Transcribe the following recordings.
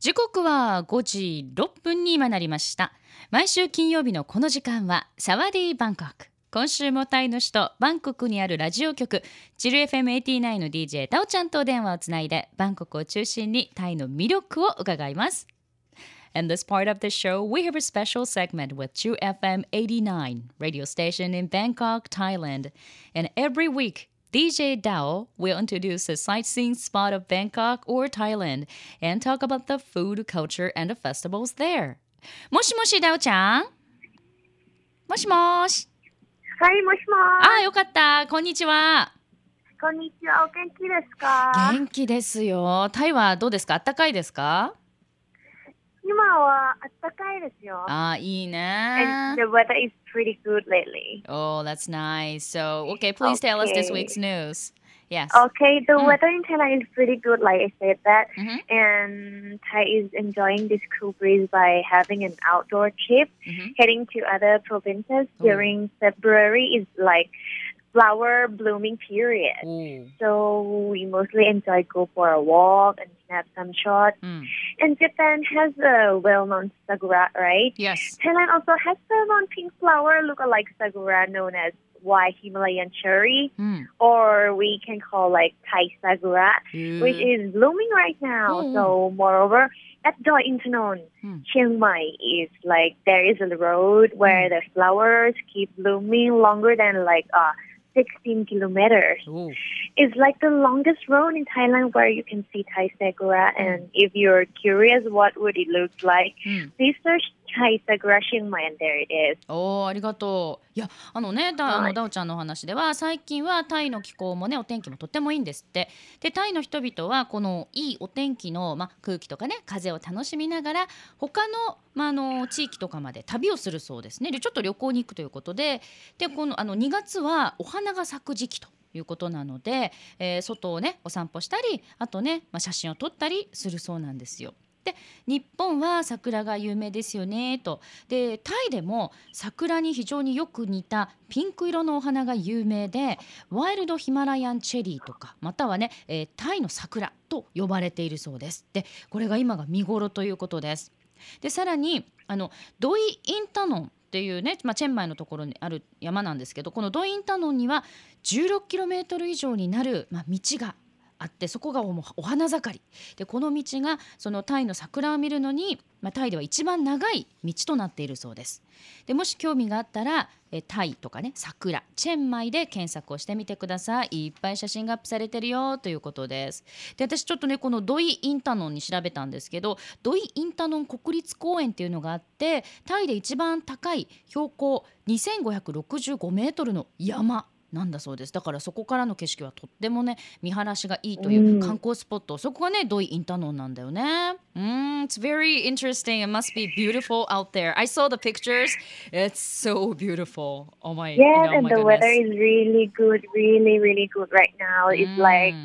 時刻は5時6分に今なりました。毎週金曜日のこの時間はサワディーバンコク。今週もタイの首都バンコクにあるラジオ局チル FM89 の DJ タオちゃんと電話をつないでバンコクを中心にタイの魅力を伺います。In this part of the show, we have a special segment with True FM 89 radio station in Bangkok, Thailand. And every week, DJ Dao will introduce a sightseeing spot of Bangkok or Thailand and talk about the food, culture, and the festivals there. もしもし、ダオちゃん。もしもし。 はい、もしもああ、よかった。こんにちは。 こんにちは。お元気ですか？ 元気ですよ。タイはどうですか？あったかいですか？ 今は暖かいですよ。 ああ、いいね。 And the weather is pretty good lately. Oh, that's nice. So, okay, please tell us this week's news. Yes. Okay, the weather in Thailand is pretty good, like I said that. Mhm. And Thai is enjoying this cool breeze by having an outdoor trip, heading to other provinces during February is like flower blooming period. Oh. So we mostly enjoy go for a walk and snap some shots. And Japan has a well-known sakura, right? Yes. Thailand also has well-known pink flower look-alike sakura known as white Himalayan cherry, or we can call like Thai sakura, which is blooming right now. So moreover, at Doi Intanon, Chiang Mai is like there is a road where the flowers keep blooming longer than like 16 kilometers. Oh. It's like the longest road in Thailand where you can see Thai sakura. And if you're curious what would it look like, please search Thai sakura Chiang Mai and there it is. おー、ありがとう。いや、ダオちゃんのお話では最近はタイの気候もね、お天気もとってもいいんですって。で、タイの人々はこのいいお天気の、空気とかね、風を楽しみながら他の、地域とかまで旅をするそうですね。で、ちょっと旅行に行くということで、この2月はお花が咲く時期ということなので、外をねお散歩したり、あとね、写真を撮ったりするそうなんですよ。で、日本は桜が有名ですよねと。で、タイでも桜に非常によく似たピンク色のお花が有名で、ワイルドヒマラヤンチェリーとか、またはね、タイの桜と呼ばれているそうです。で、これが今が見頃ということです。で、さらにドイ・インタノンっていうね、チェンマイのところにある山なんですけど、このドイ・インタノンには 16km 以上になる、道があって、そこがお花盛りで、この道がそのタイの桜を見るのに、タイでは一番長い道となっているそうです。で、もし興味があったらタイとかね、桜チェンマイで検索をしてみてください。いっぱい写真がアップされてるよということです。で、私ちょっとねこのドイ・インタノンに調べたんですけど、ドイ・インタノン国立公園っていうのがあって、タイで一番高い標高2565メートルの山なんだそうです。だからそこからの景色はとってもね見晴らしがいいという観光スポット、そこがねドイ・インタノンなんだよね。It's very interesting. It must be beautiful out there. I saw the pictures. It's so beautiful. Oh my, Yeah, oh and my the goodness. weather is really good, really, really good right now. It's like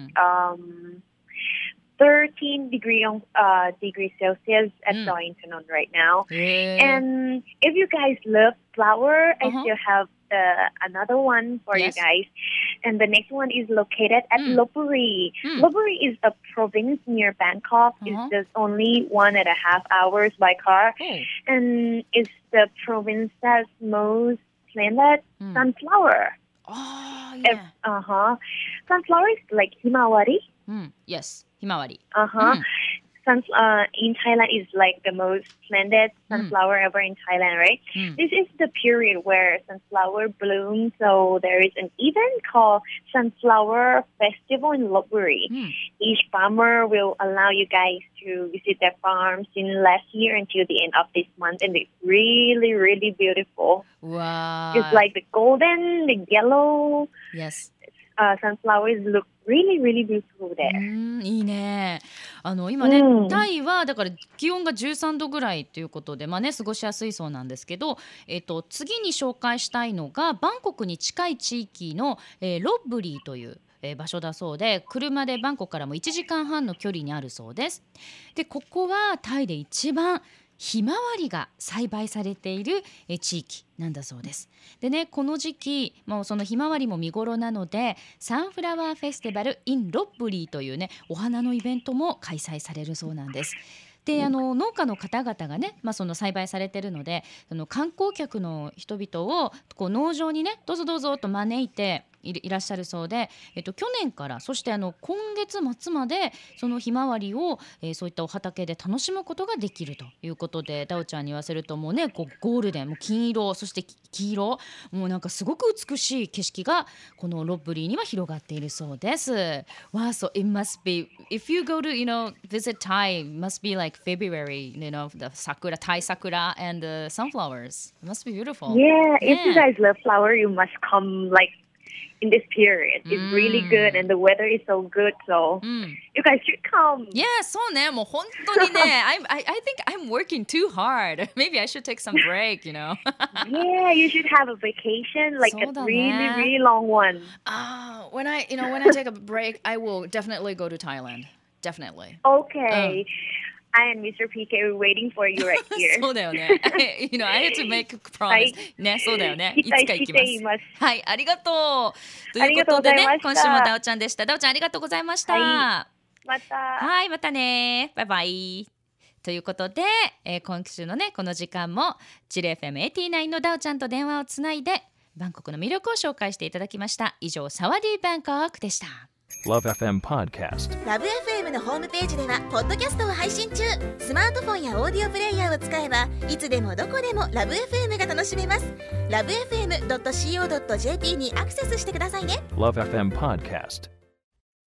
13 degrees Celsius at Darlington right now. And if you guys love flower, I still have another one for you guys. And the next one is located at Lopburi. Lopburi is a province near Bangkok. It's just only 1.5 hours by car. And it's the province that's most planted sunflower. Oh, yeah. Sunflower is like Himawari. Yes, Himawari. In Thailand is like the most planted sunflower ever in Thailand, right? This is the period where sunflower blooms. So there is an event called Sunflower Festival in Lopburi. Each farmer will allow you guys to visit their farms in last year until the end of this month, and it's really, really beautiful. Wow. Just like the golden, the yellow. Yes. Sunflowers look really, really beautiful there. いいね。今ね、タイはだから気温が13度ぐらいということで、過ごしやすいそうなんですけど、次に紹介したいのがバンコクに近い地域の、ロッブリーという場所だそうで、車でバンコクからも1時間半の距離にあるそうです。で、ここはタイで一番ひまわりが栽培されている地域なんだそうです。でね、この時期もうそのひまわりも見頃なので、サンフラワーフェスティバル in ロッブリーというねお花のイベントも開催されるそうなんです。で農家の方々がね、その栽培されているので、観光客の人々をこう農場にねどうぞどうぞと招いていらっしゃるそうで、去年からそして今月末までそのひまわりを、そういったお畑で楽しむことができるということで、ダオちゃんに言わせるともうねこうゴールデン、もう金色、そして黄色、もうなんかすごく美しい景色がこのロッブリーには広がっているそうです。Wow, so it must be, if you go to visit Thai, it must be like February, the sakura, Thai sakura and the sunflowers. It must be beautiful. Yeah, if you guys love flower, you must come like in this period. It's really good and the weather is so good, so you guys should come. Yeah, そうね、もう本当にねI think I'm working too hard. Maybe I should take some break, Yeah, you should have a vacation, like a really, really long one. When I take a break, I will definitely go to Thailand. Definitely. Okay. I and Mr. PK are waiting for you right here. そうだよね。I had to make a promise. ね、そうだよね。いつか行きます。はい、ありがとう。ということでね、今週もダオちゃんでした。ダオちゃんありがとうございました。 また。 はい、またね。バイバイ。ということで、今週のねこの時間もチル FM89 のダオちゃんと電話をつないでバンコクの魅力を紹介していただきました。以上、サワディーバンコクでした。 LoveFM Podcast。LoveFM のホームページではポッドキャストを配信中。スマートフォンやオーディオプレイヤーを使えばいつでもどこでも LoveFM が楽しめます。LoveFM.co.jp にアクセスしてくださいね。 LoveFM Podcast。